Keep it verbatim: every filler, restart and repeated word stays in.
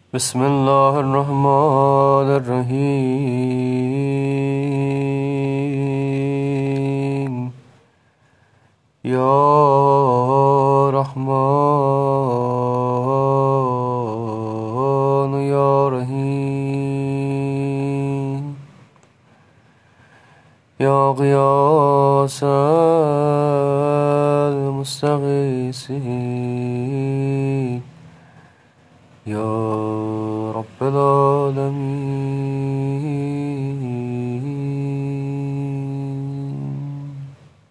بسم الله الرحمن الرحيم يا رحمن يا رحيم يا غياث المستغيثين يا رب العالمين